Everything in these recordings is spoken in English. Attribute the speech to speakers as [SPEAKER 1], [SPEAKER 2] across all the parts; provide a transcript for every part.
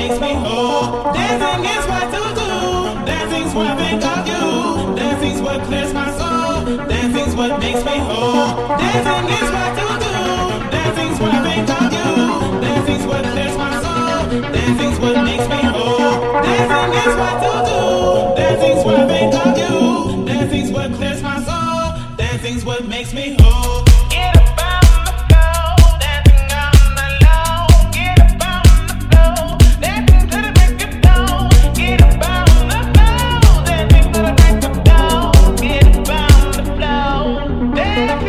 [SPEAKER 1] makes me whole. Dancing is what to do. Dancing's what I think of you. Dancing's what clears my soul. Dancing's what makes me whole. Dancing is what to do. Dancing's what I think of you. Dancing's what clears my soul. Dancing's what makes me whole. Dancing is what to do. Dancing's what I think of you. Dancing's what clears my soul. Dancing's what makes me whole. Get up on the floor, dancing on the low. Get up on the floor, dancing to the break of dawn. Get up on the floor, dancing to the break of dawn. Get up on the floor, dancing.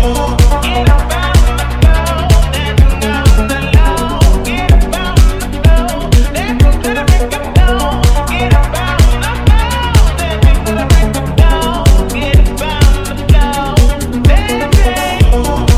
[SPEAKER 1] Get up on the floor, dancing on the low. Get up on the floor, dancing to the break of dawn. Get up on the floor, dancing to the break of dawn. Get up on the floor, dancing.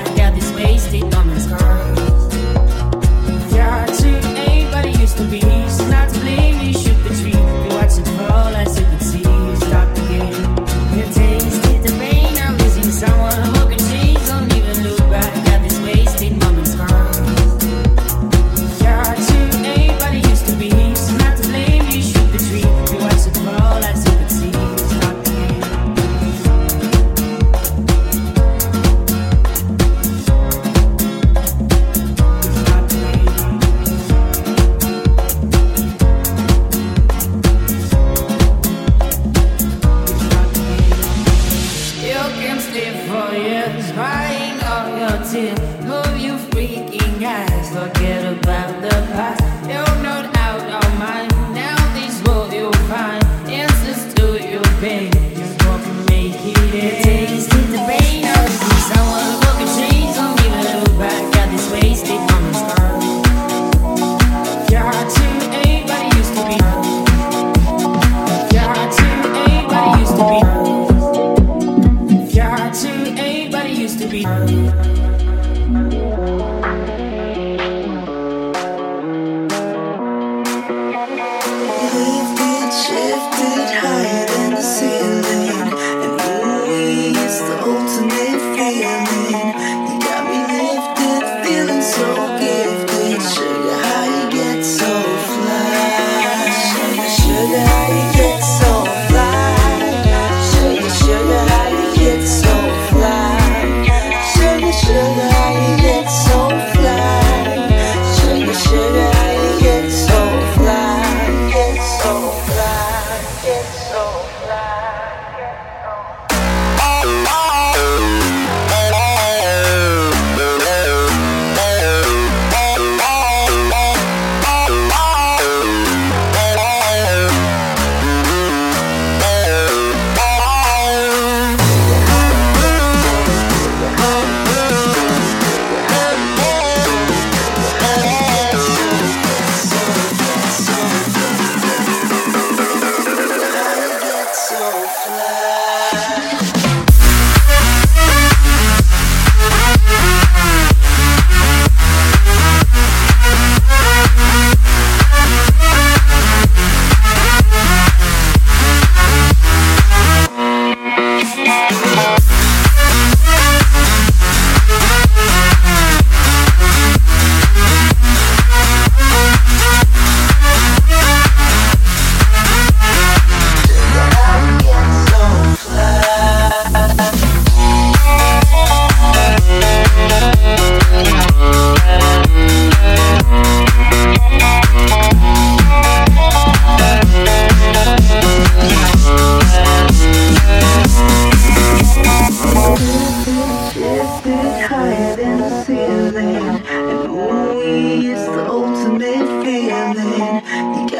[SPEAKER 1] Peace.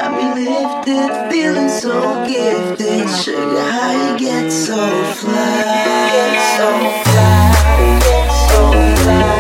[SPEAKER 2] got me lifted, feeling so gifted. Sugar, how you get so fly? Get so fly, get so fly.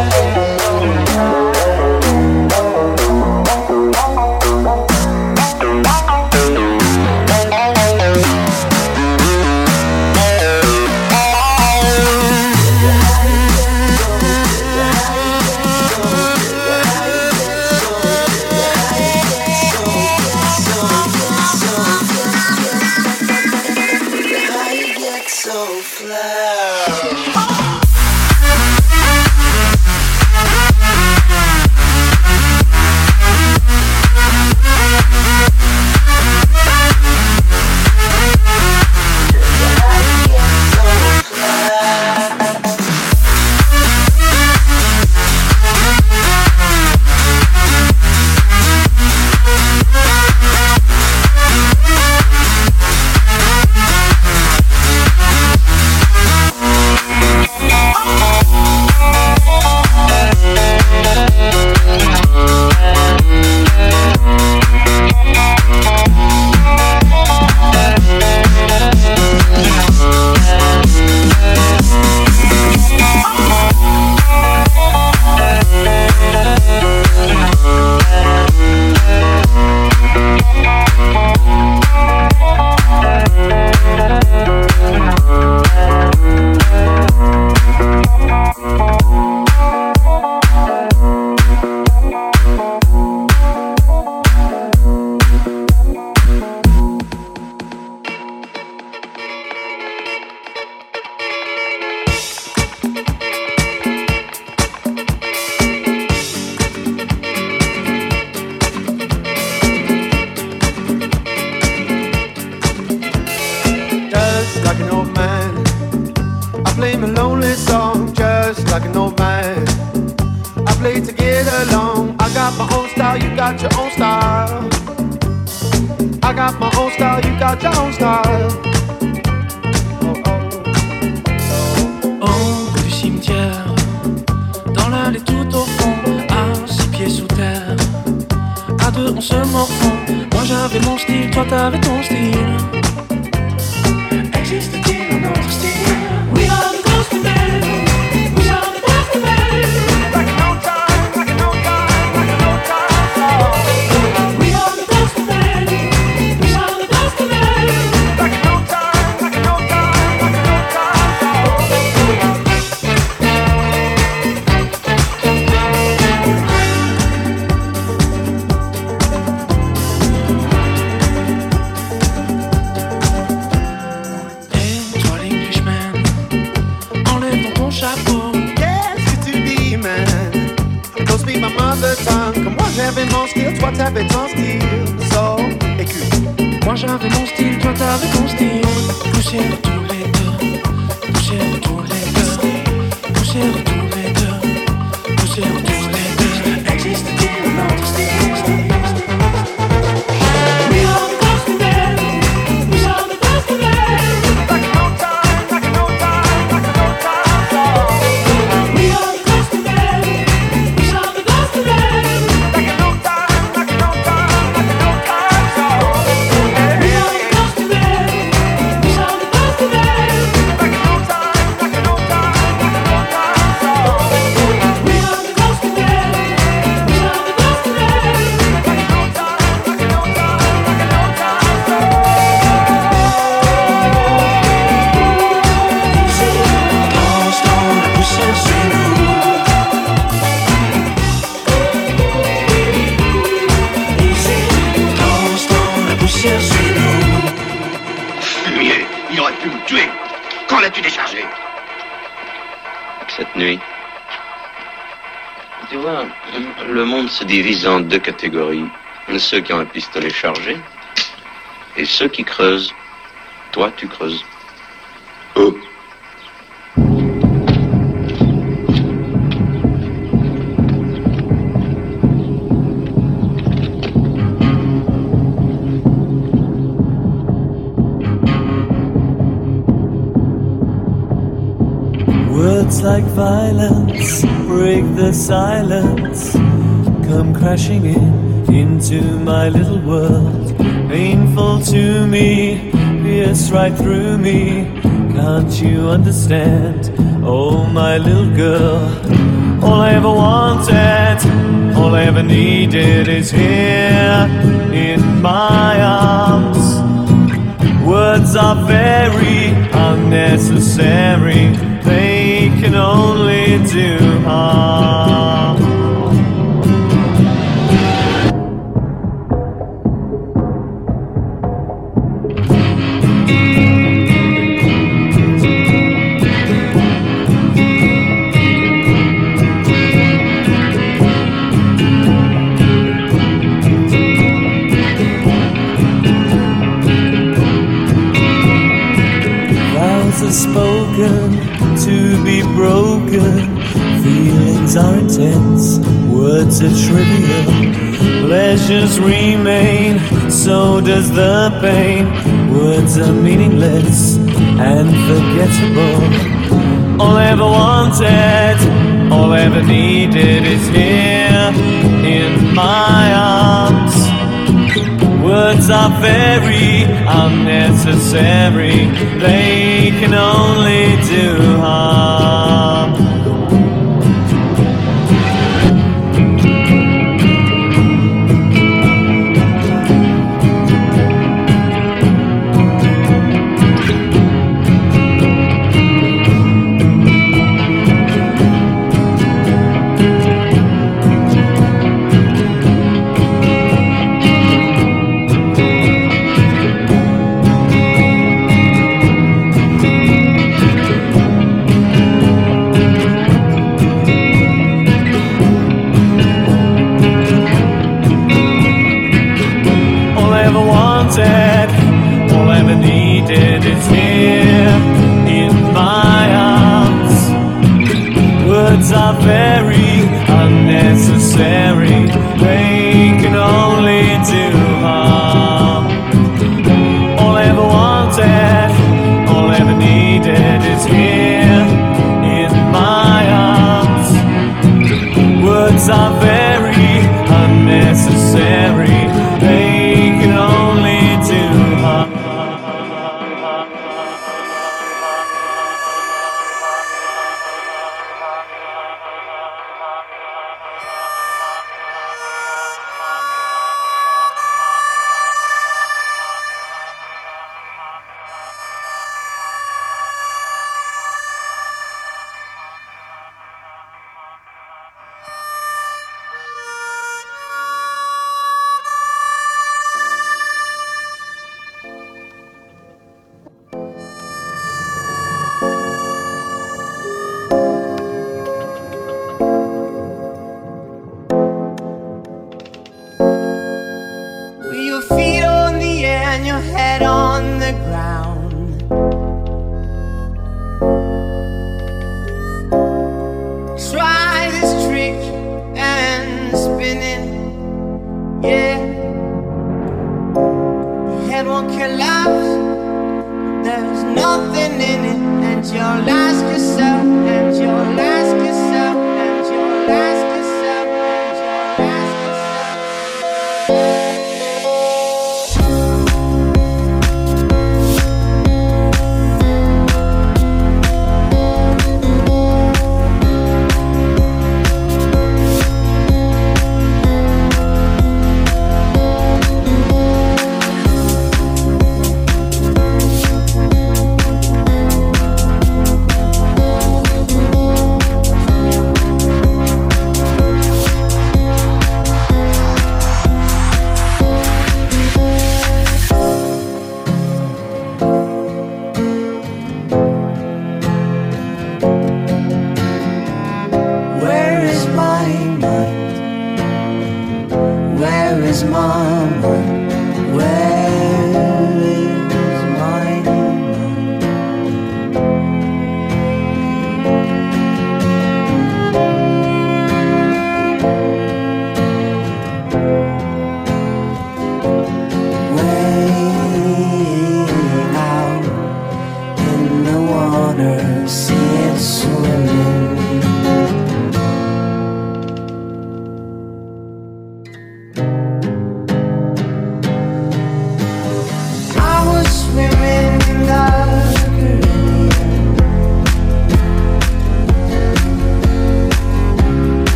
[SPEAKER 3] Se divise en deux catégories. Ceux qui ont un pistolet chargé et ceux qui creusent. Toi, tu creuses. Oh.
[SPEAKER 4] Words like violence break the silence. Come crashing in into my little world. Painful to me, pierce right through me. Can't you understand? Oh, my little girl. All I ever wanted, all I ever needed is here in my arms. Words are very unnecessary. They can only do harm. Spoken to be broken. Feelings are intense, words are trivial. Pleasures remain, so does the pain. Words are meaningless and forgettable. All I ever wanted, all I ever needed is here in my arms. Words are very unnecessary. They can only do harm. All I ever needed is here in my arms. Words are very unnecessary. They can only do harm. All I ever wanted, all I ever needed is here in my arms. Words are very unnecessary. They can only do harm.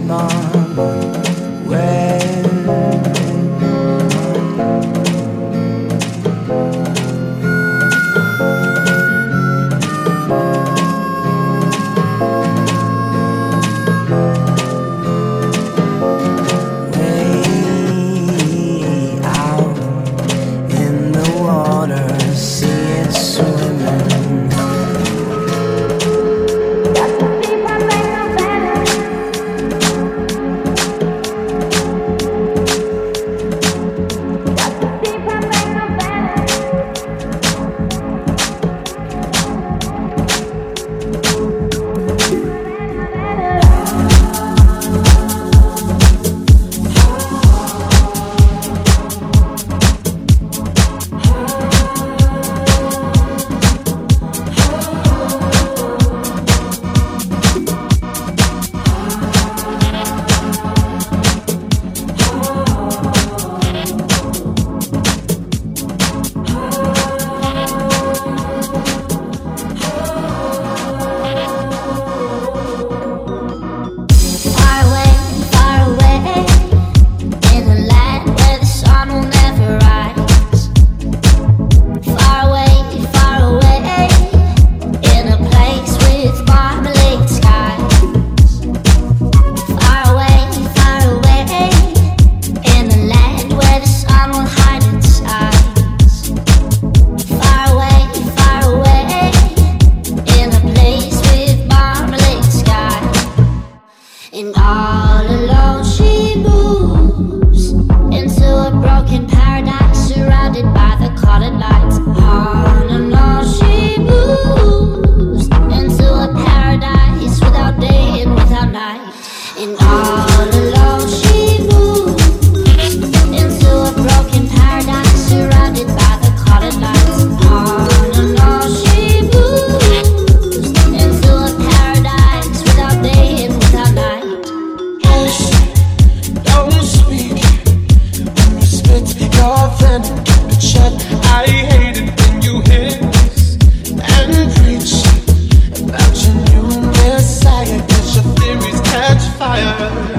[SPEAKER 5] Fire.